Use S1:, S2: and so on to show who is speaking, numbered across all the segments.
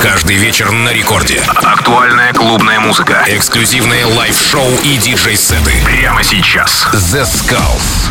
S1: Каждый вечер на рекорде.
S2: Актуальная клубная музыка.
S1: Эксклюзивные лайв-шоу и диджей-сеты.
S2: Прямо сейчас.
S1: The Skulls.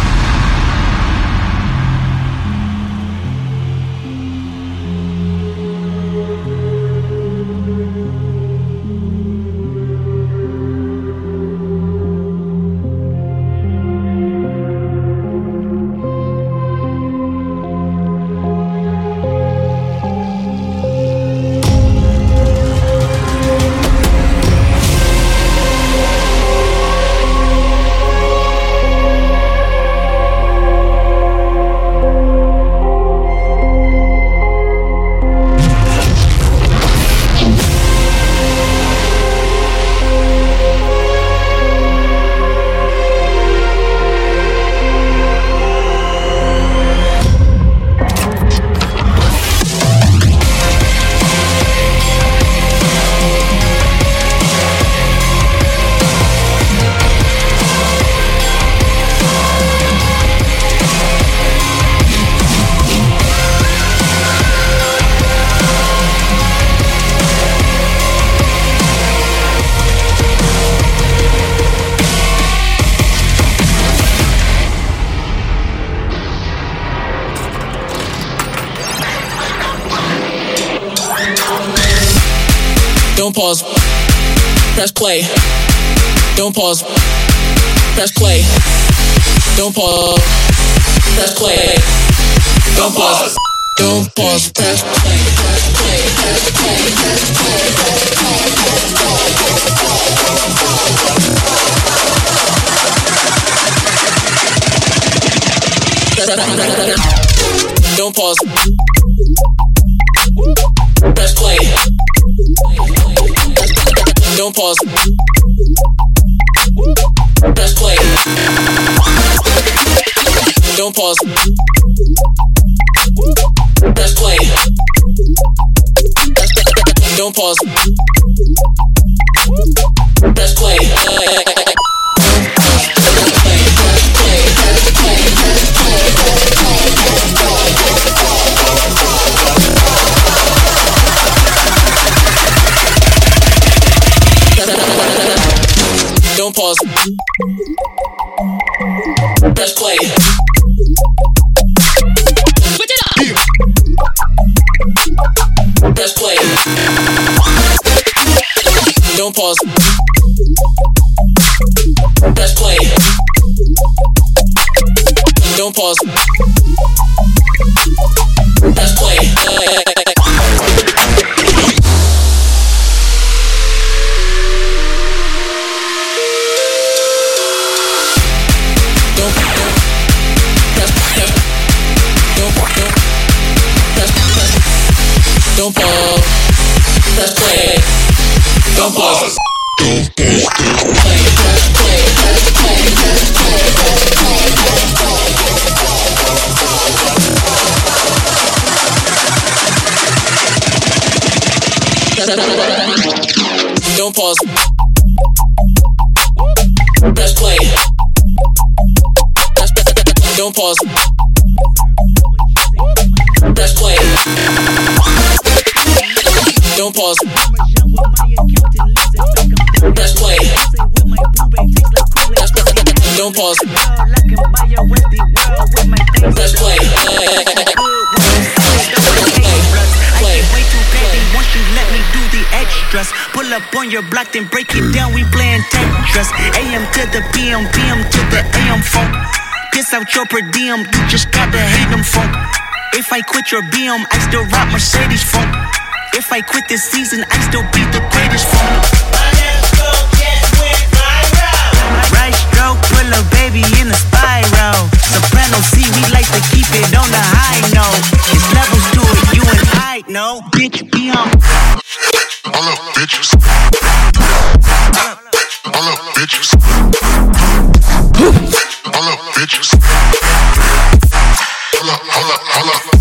S3: Don't pause, press play. Don't pause, press play. Don't pause, press play. Don't pause, don't pause, press play. Don't pause, press play. Don't pause, press play. Don't pause, press play. Don't pause, press play. Don't pause. Press play. Switch it up. Press play. Don't pause. Press play. Don't pause. Press play. Don't pause, press play. Don't pause. Don't pause. Play, press play, press play, press play, press play, press play. Don't pause. Press play. Don't pause. Press play. Don't pause. Press play. Don't pause. Press play.
S4: Pull up on your block, then break it down. We playing Tetris. AM to the PM, PM to the AM funk. Piss out your per diem, you just gotta hate them funk. If I quit your BM, I still rock Mercedes funk. If I quit this season, I still be the greatest funk. Right stroke, pull a baby in a spiral. Soprano C, we like to keep it on the high note. It's levels to it, you and I know. Bitch, be on.
S5: All up, bitches. All up, bitches. All up, bitches. Hold up.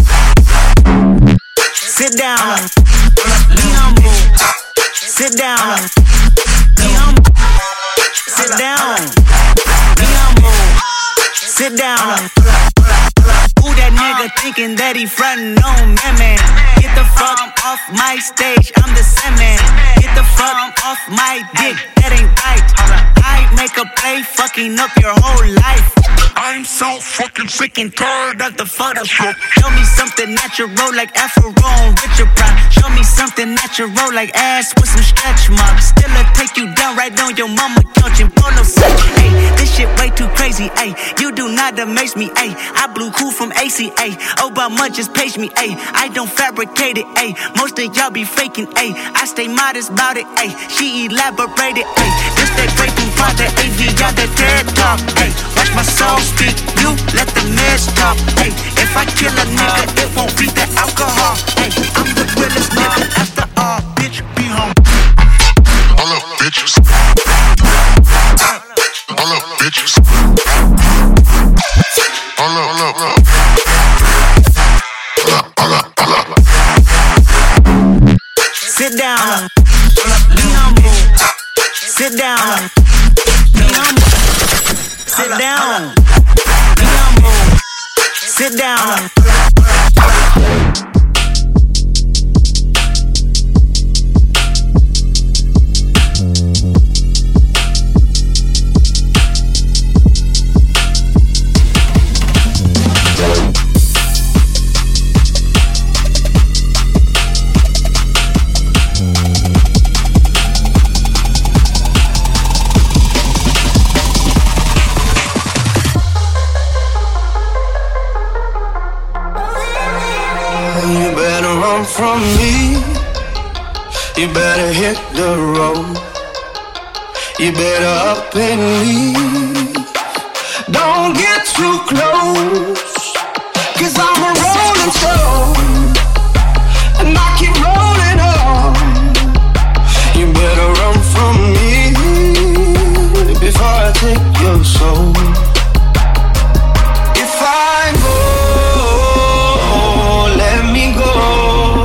S4: Sit down. Be humble. Sit down. Be humble. Sit down. Be humble. Sit down. Who that nigga thinking that he frontin' on me, man? Get the fuck off my stage, I'm the Sandman. Get the fuck off my dick, that ain't right. I make a play, fucking up your whole life. I'm so fucking sick and tired of the Photoshop. Show me something natural like Afro and Richard Pryor. Show me something natural like ass with some stretch marks. Still I take you down right on your mama couch in polo set. Ay, this shit way too crazy. Ay, you do not amaze me. Ay, I blew cool from ACA. Obama just page me. Ay, I don't fabricate it. Ay, most of y'all be faking. Ay, I stay modest about it. Ay, she elaborated. Ay, this that great from Father AV, y'all that TED talk. Ay, watch my soul speak. You let the meds talk. Ay, if I kill a nigga, it won't be the alcohol. Ay, I'm the realest nigga after all. Bitch, be home.
S5: All up, bitches. All up, bitches. All up, all up, all up.
S4: Sit down. Be humble. Sit down. Be humble. Sit down. Be humble. Sit down.
S6: From me, you better hit the road. You better up and leave. Don't get too close, 'cause I'm a rolling stone, and I keep rolling on. You better run from me before I take your soul. If I go, let me go.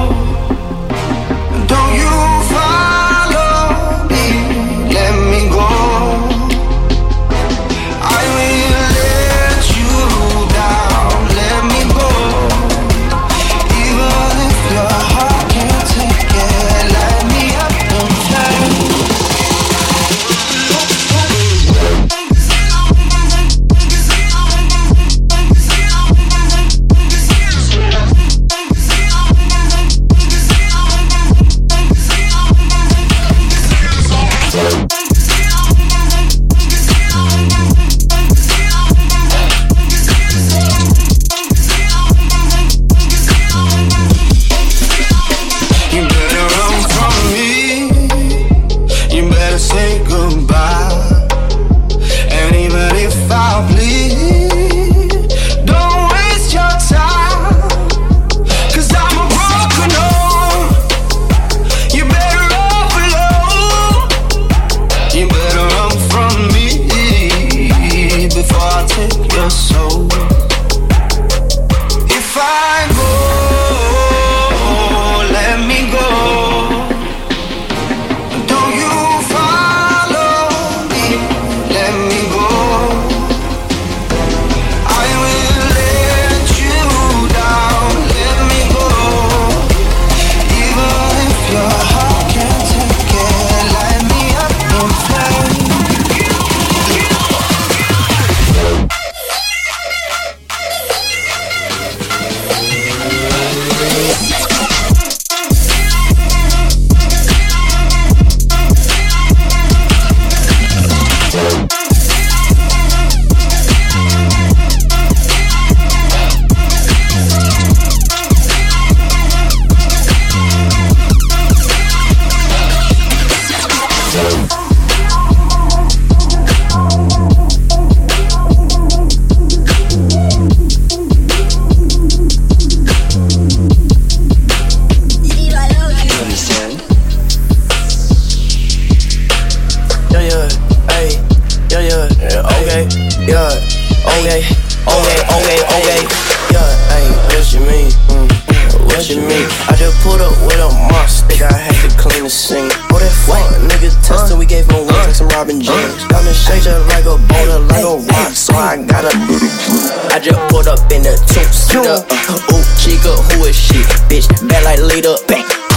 S7: I just pulled up in the two-seater. Ooh, chica, who is she? Bitch, bad like leader.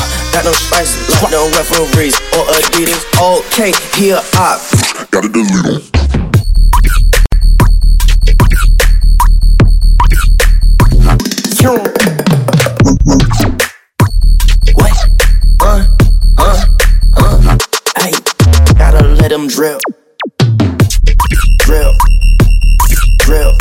S6: Got no spices like no referees or Adidas. Okay, here I
S5: Gotta delete them.
S6: What? Hey, gotta let them drip. Drip. Drip.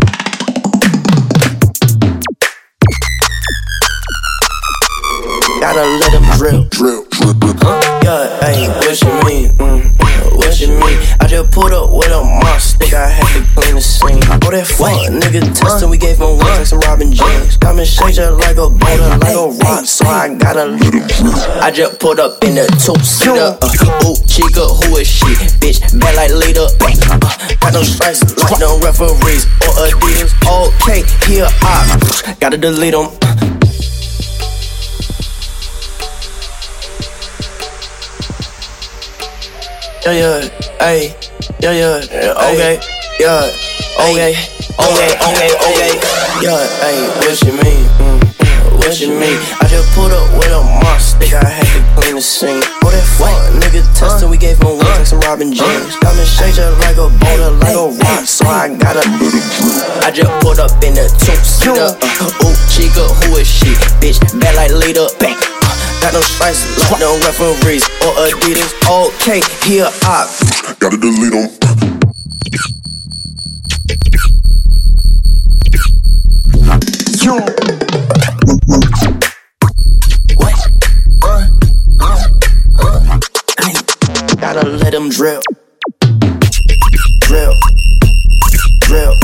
S6: Gotta let them drip.
S5: Drip, drip, drip.
S6: Yeah, hey, what you mean? What you mean? I just pulled up with a monster. Think I had to clean the scene. Oh, that fuck nigga testing. We gave him one like some Robin James. Got me shake just like a boulder, like a rock. So I gotta. I just pulled up in the two-seater. Ooh, chica, who is she? Bitch, bad like leader. Got no stripes like no referees or Adidas. Okay, here I gotta delete them. Yeah, hey, yeah, okay, yeah, okay, yeah, hey, what you mean? What you mean? I just pulled up with a monster. Think I had to clean the scene. Oh, that fuck nigga testing. We gave him one like some Robin James. Got me shake just like a boulder, like a rock. So I gotta. I just pulled up in the two-seater. Ooh, chica, who is she? Bitch, bad like leader. Got no spices like no referees or Adidas. Okay, here I
S5: Gotta delete them.
S6: What? Hey, gotta let them drip. Drip. Drip.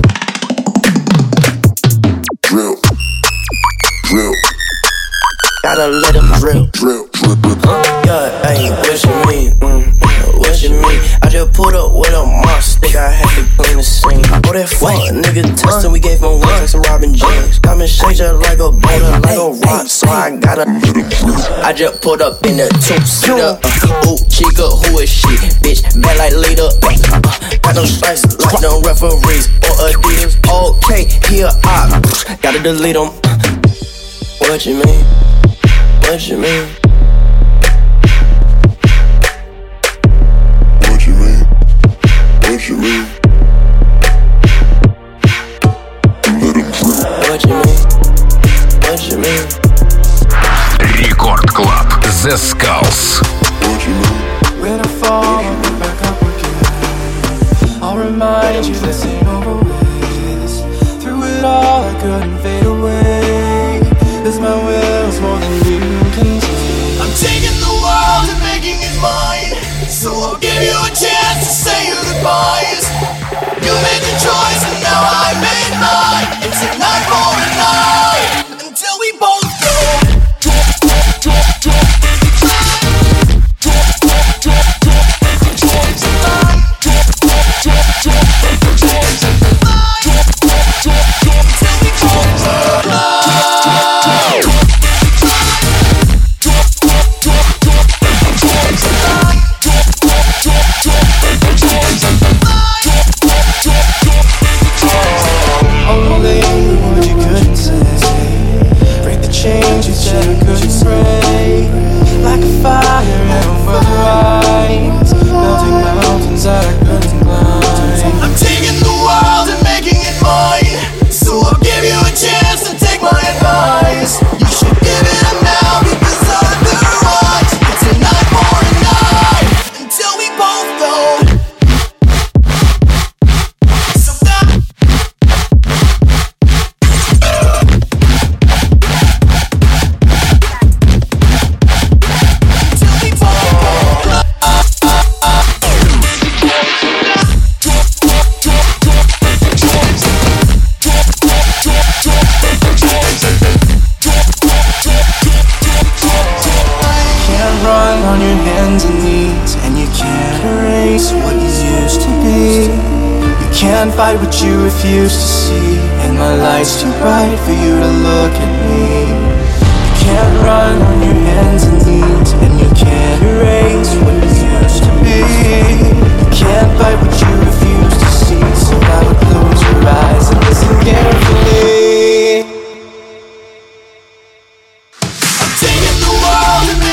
S5: Drip. Drip.
S6: Gotta let them drip.
S5: Drip, drip, drip.
S6: Yeah, hey, what you mean? What you mean? I just pulled up with a monster. Think I had to clean the scene. Oh, that fuck nigga testing. We gave him one like some Robin James. Got me shake just like a boulder, like a rock. So I gotta. I just pulled up in the two-seater. Ooh, chica, who is she? Bitch, bad like leader. Got no spices like no referees or Adidas. Okay, here I gotta delete them. What you mean? What you mean?
S5: What you mean? What you mean? Let them drip.
S6: What you mean? What you mean?
S1: Рекорд Клаб. The Skulls.
S5: What you mean?
S7: When I fall, I'll get back up again. I'll remind you this ain't over with. Through it all, I couldn't fade away. 'Cause my will's more than you can take. I'm taking the world and making it mine. So I'll give you a chance to say your goodbyes. You made the choice and now I made mine. It's a night for a night until we both go. Fight what you refuse to see, and my light's too bright for you to look at me. You can't run on your hands and knees, and you can't erase what you used to be. You can't fight what you refuse to see, so I would close your eyes and listen carefully. I'm taking the world and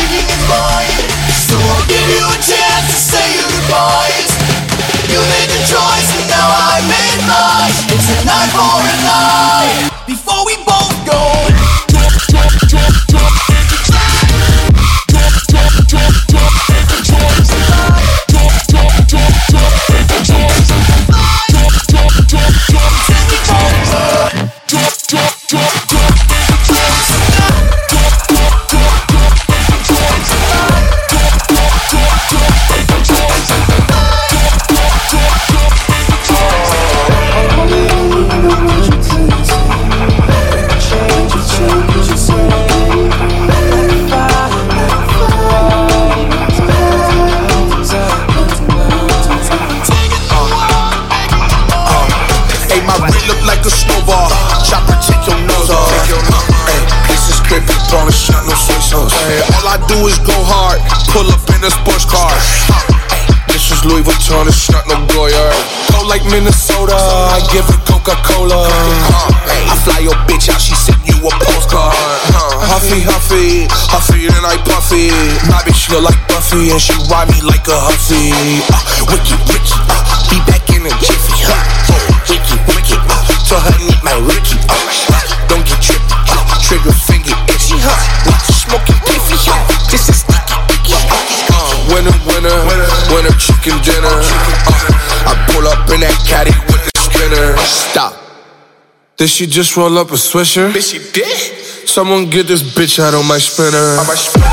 S8: ballin', shot no sweet. Hey, all I do is go hard, pull up in a sports car. This is Louis Vuitton, it's not no Goya. Go like Minnesota, I give her Coca-Cola. I fly your bitch out, she sent you a postcard. Huffy, huffy, huffy and I puffy. My bitch look like Buffy and she ride me like a hussy. Wicked, wicked, be back in a jiffy. Wicked, wicked, tell her need my Ricky. Don't get trippy, trigger finger itchy. Smoking piffy, this is sticky. Winner, winner, winner chicken dinner. I pull up in that caddy with the spinner. Stop. Did she just roll up a Swisher? Bitch, she did. Someone get this bitch out on my spinner. On my spinner.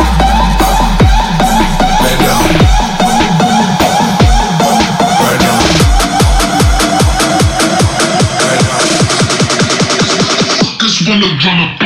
S8: Man down. Man down. Man down. This one to run up.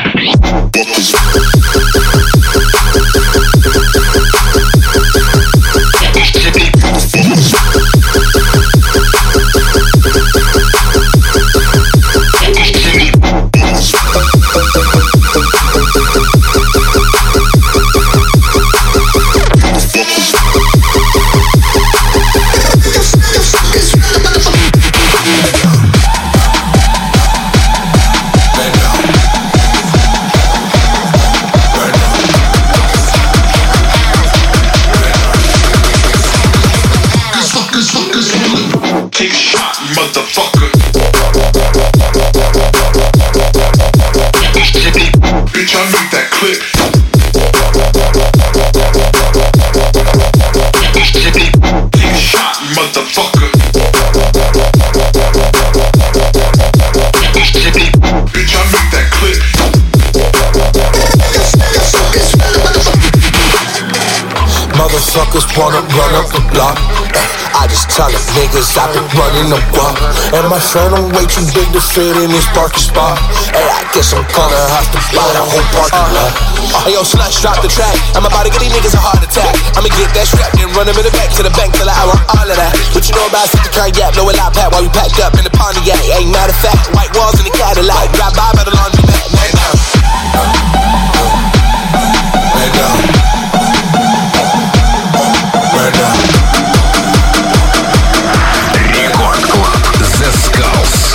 S8: Motherfuckers wanna run up the block. I just tell the niggas I've been running the block. And my friend, I'm way too big to fit in this parking spot. Hey, I guess I'm gonna have to buy the whole parking lot. Hey, yo, slush, drop the track. I'm about to get these niggas a heart attack. I'ma get that strap, then run them in the back to the bank till I want all of that. What you know about City Cognac? Know a lot pack while we packed up in the Pontiac. Ain't matter of fact, white walls in the Cadillac. Drive by the laundromat. Man down. Man down. Man down.
S2: Рекорд Клаб The Skulls.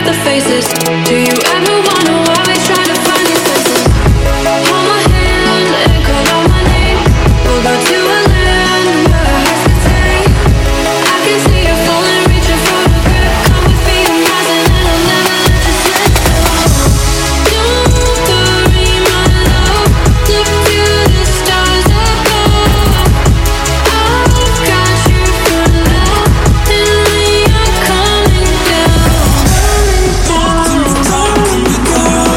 S9: the faces. Do you ever wonder why we try to find these places? Hold my hand and call out my name. We'll go to a land where our hearts can stay. I can see you falling, reaching for the grip. Come with me, I'm rising and I'll never let you slip. Don't worry, my love. Look to the stars above. I've got you for love, and we are coming down. Talk to me, girl.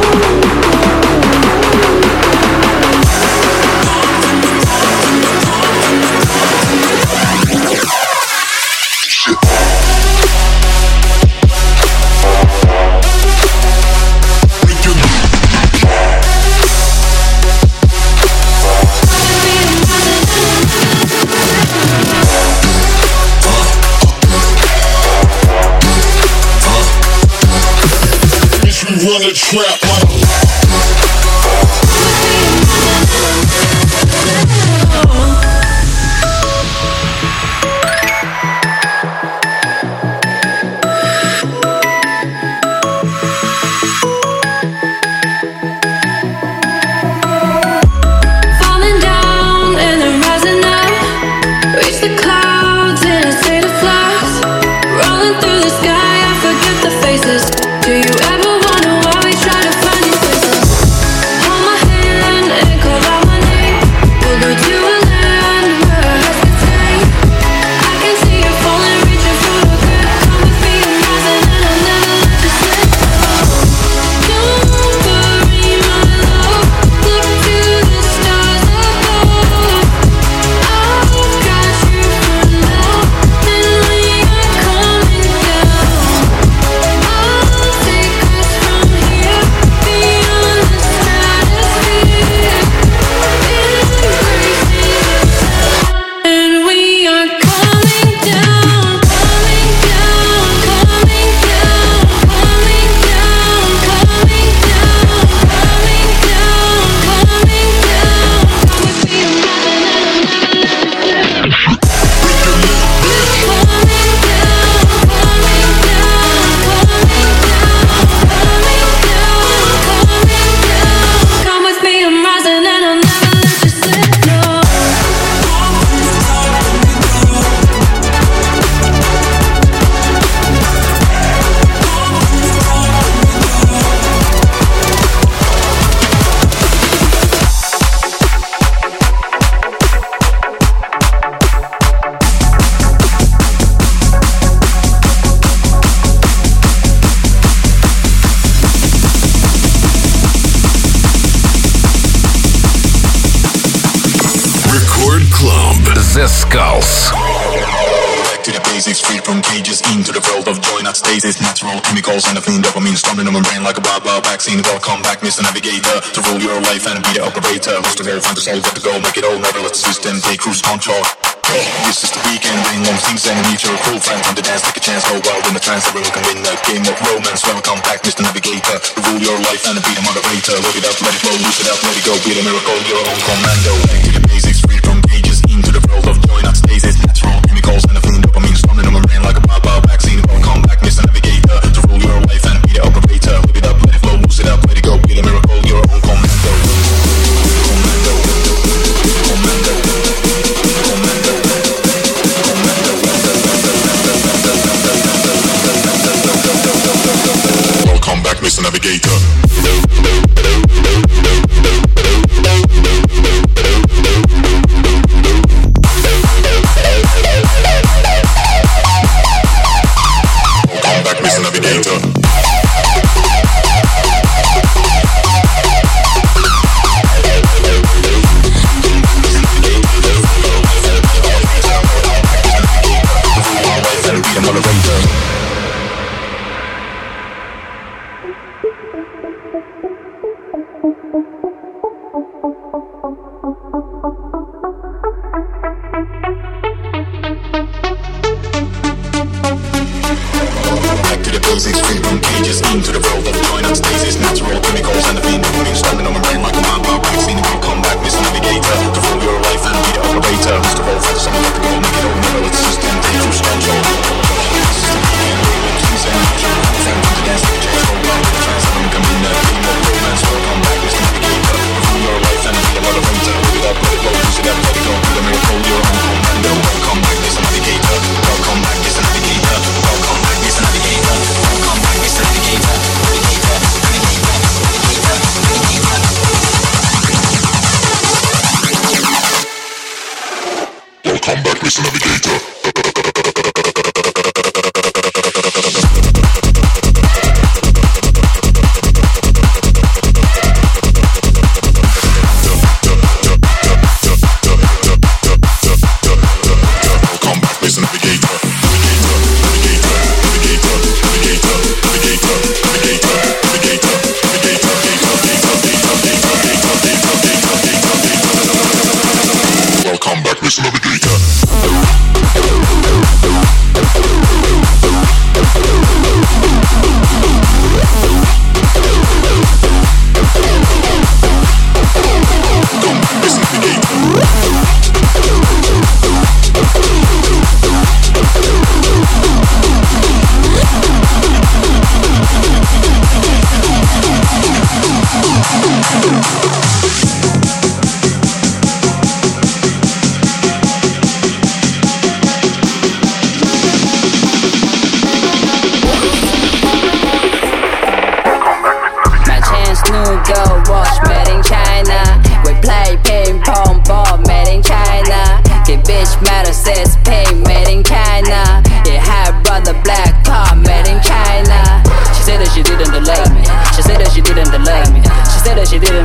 S8: Run a trap.
S9: Falling down and then rising up. Reach the clouds in a state of flux. Rolling through the sky, I forget the faces. Do you ever wonder why we try to find these places? Hold my hand and call out my name. We'll go to a land where our hearts can stay. I can see you falling, reaching for the grip. Come with me, I'm rising and I'll never let you slip. Don't worry, my love. Look to the stars above. I've got you for love, and we are coming down. I'll take us from here beyond the stratosphere, embracing and we are coming down, coming down, coming down, coming down, coming down, coming down, coming down. Come with me, I'm rising and I'll never let you slip. Coming down, coming down, coming down, coming down, coming down. Come with me, I'm rising and I'll never let you slip. No.
S1: Record Club. The Skulls.
S10: Back to the basics, free from cages, into the world of joy, not stasis. Natural chemicals and a clean dopamine storming on my brain like a wild vaccine. Welcome back, Mr. Navigator, to rule your life and be the operator. Who's to verify the soul, got to go, make it all, never let the system take cruise control. This is the weekend, bring long things and meet your cool friends on the dance, take a chance, go wild in the trance, everyone can win a game of romance. Welcome back, Mr. Navigator, to rule your life and be the moderator. Look it up, let it flow, lose it up, let it go, be the miracle, your own commando. Back to the basics, free from cages, into the world of joy, not stasis. Natural chemicals and a clean dopamine storming on my brain like a wild vaccine. Welcome back, Mr. Navigator, to rule your life and be the operator. Look it up, let it flow, lose it up, let it go, be the miracle, your own commando. Commando, commando, commando. Welcome back, Mr. Navigator. Welcome back, Mr. Navigator. Basics, free from cages, into the world of joy, not stasis. Natural chemicals and the fiend dopamine storming on my brain like a wild vaccine. Welcome back, Mr. Navigator, to rule your life and be the operator. Who's the role for the summer, let the go, make it all, never let the system take cruise control. This is the weekend, bring long things and meet your cool friends on the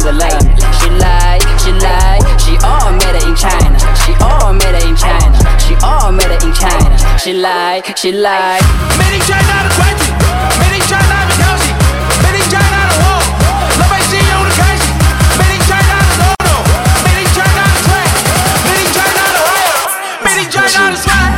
S11: a lie. She lie, she lie. She all made it in China. She all made it in China. She all made it in China. She lie, she lie.
S6: Made in China the crazy. Made in China the cozy. Made in China the wall. Love I see on the crazy. Made in China the no-no. Made in China the track. Made in China the riot. Made in China the swag.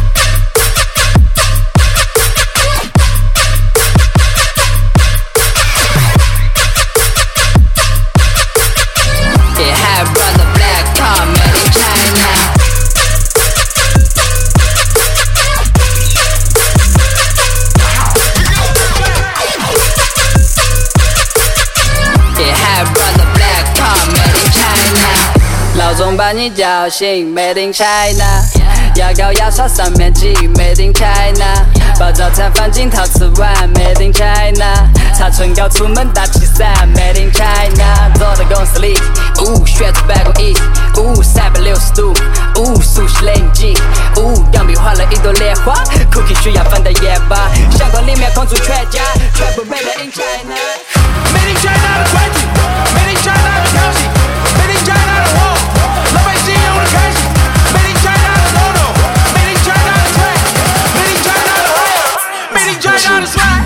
S11: 老总把你叫醒 ，Made in China， 牙膏牙刷上面挤 ，Made in China， 把早餐放进陶瓷碗 ，Made in China， 擦唇膏出门打气伞 ，Made in China， 坐在公司里，学着办公椅，360度，熟悉冷静，钢笔画了一朵莲花 ，Cookie 需要放到夜吧，相框里面空出全家，全部 Made in China。Made
S6: in China the crazy, Made in China the cozy, Made in China the wall. Love I see on the crazy. Made in China the no-no. Made in China the track. Made in China the riot. Made in China the swag.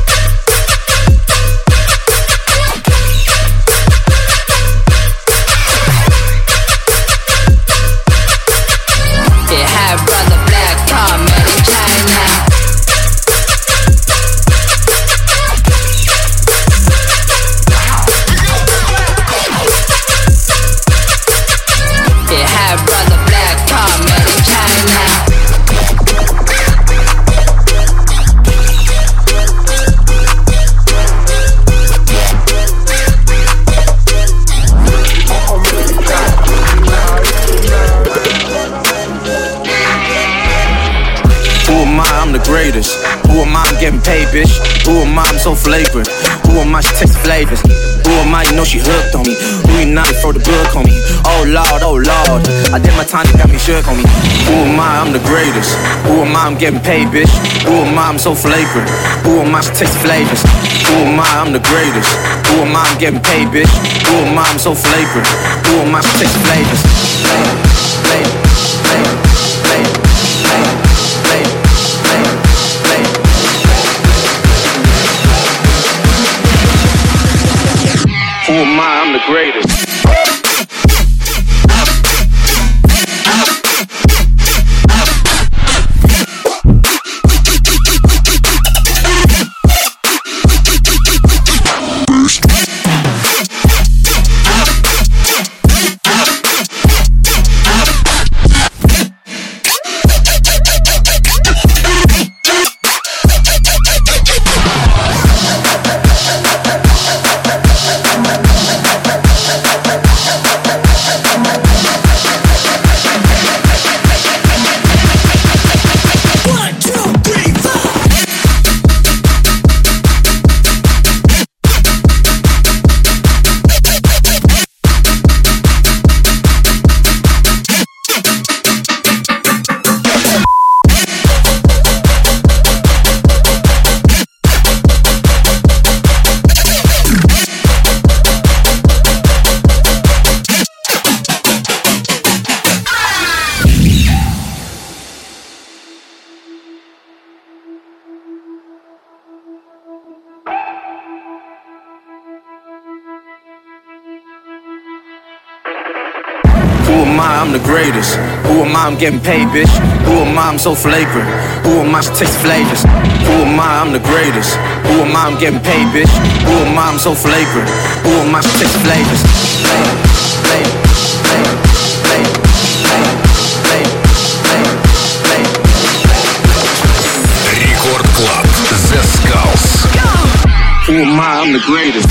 S11: Yeah, hi brother, black car, made in China.
S12: Greatest. Who am I? I'm getting paid, bitch. Who am I? I'm so flagrant. Who am I? She takes flavors. Who am I? You know she hooked on me. Who you not? Throw the book on me. Oh Lord, oh Lord. I did my time, they got me shook on me. Who am I? I'm the greatest. Who am I? I'm getting paid, bitch. Who am I? I'm so flagrant. Who am I? She takes flavors. Who am I? I'm the greatest. Who am I? I'm getting paid, bitch. Who am I? I'm so flagrant. Who am I? She takes flavors. Who am I? I'm the greatest. Who am I? I'm the greatest. Who am I? I'm getting paid, bitch. Who am I? I'm so flagrant. Who am I? She takes flavors. Who am I? I'm the greatest. Who am I? I'm getting paid, bitch. Who am I? I'm so flagrant. Who am I? She takes flavors.
S1: Record Club, The Skulls.
S12: Who am I? I'm the greatest.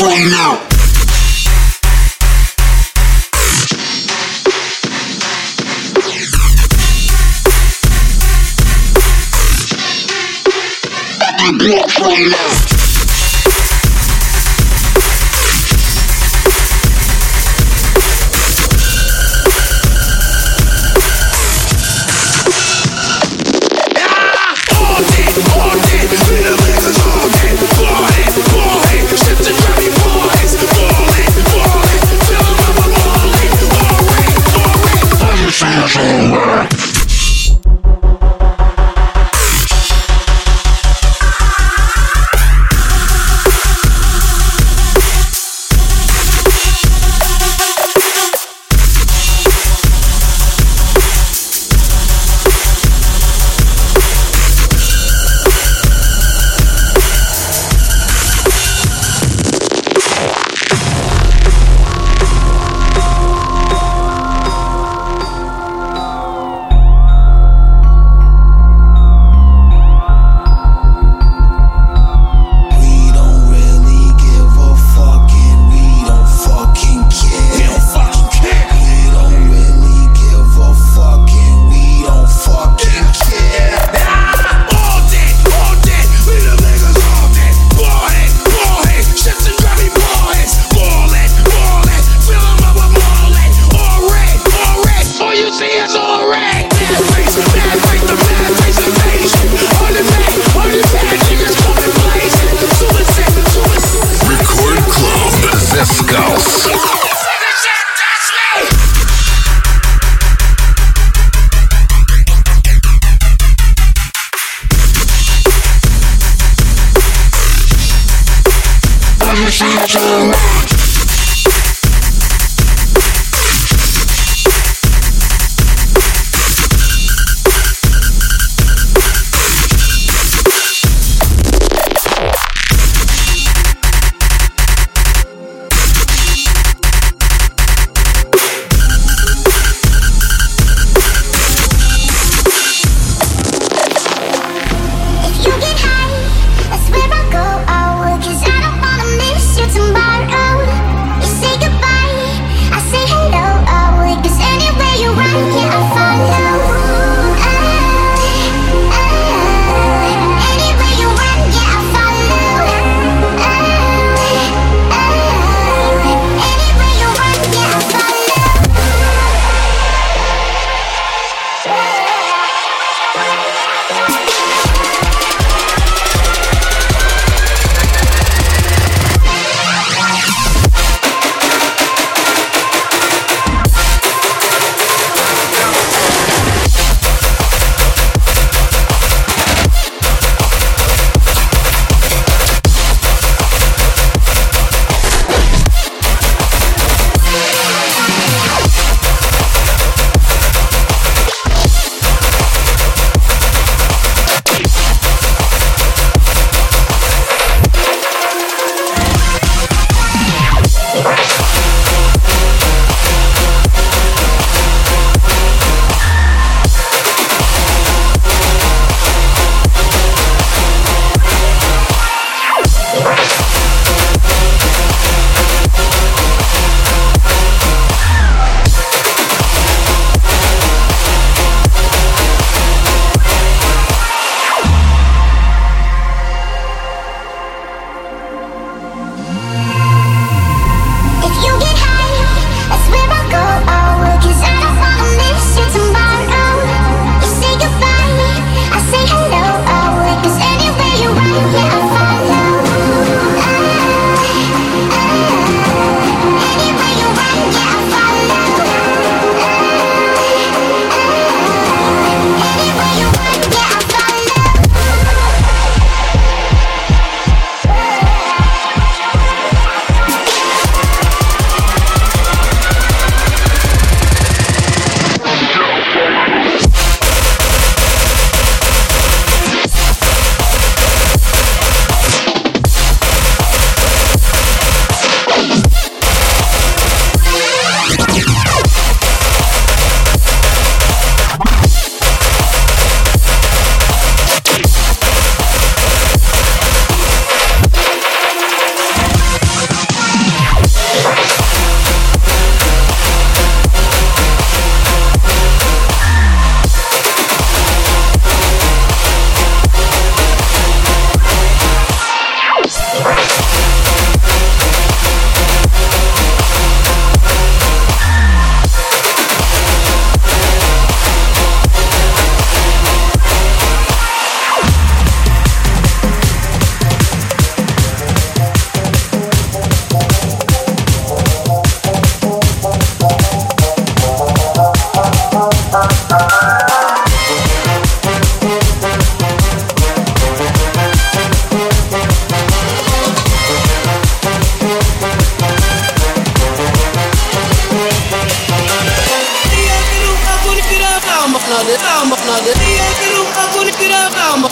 S5: right now. Blocks right now.
S13: You get high, that's where I go. I will, 'cause I don't wanna miss you tomorrow.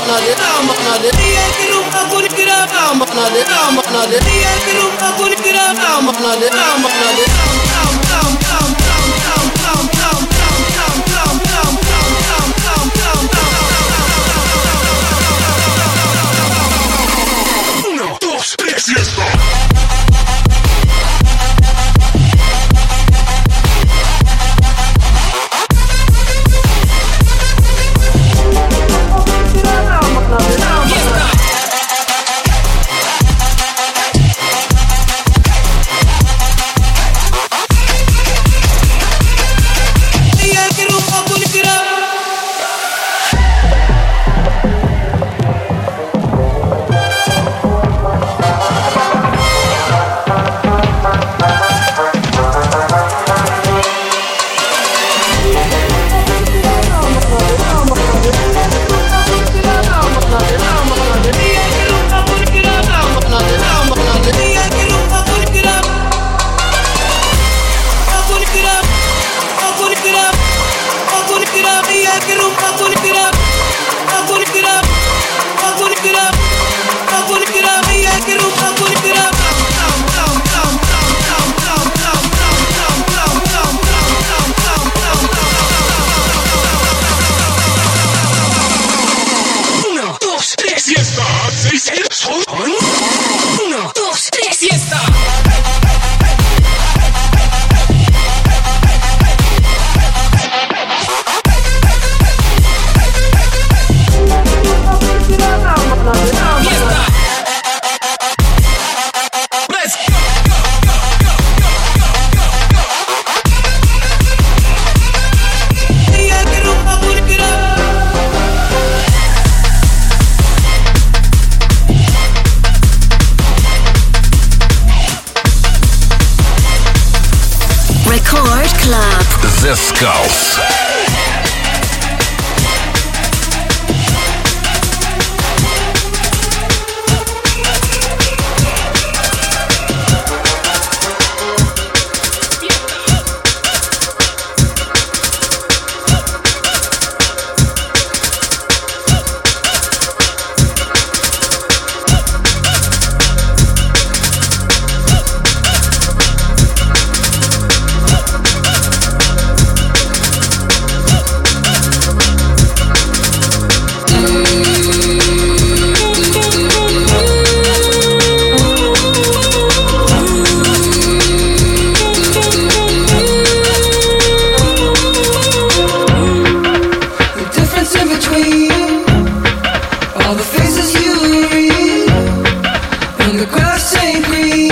S5: Uno, dos, tres y esto.
S3: Uno, dos, tres y está.
S1: The Skulls.
S7: All the faces you read, and the grass ain't green.